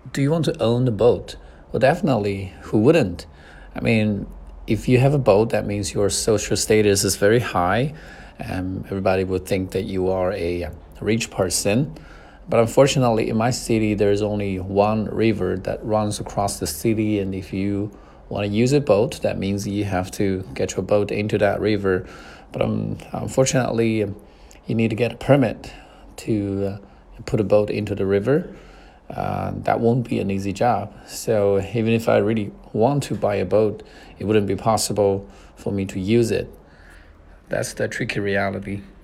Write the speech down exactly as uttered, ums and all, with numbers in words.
do you want to own a boat? Well, definitely, who wouldn't? I mean, if you have a boat, that means your social status is very high. Um, everybody would think that you are a rich person. But unfortunately, in my city, there's only one river that runs across the city. And if you want to use a boat, that means you have to get your boat into that river. But um, unfortunately, you need to get a permit to uh, put a boat into the river. Uh, that won't be an easy job. So even if I really want to buy a boat, it wouldn't be possible for me to use it. That's the tricky reality.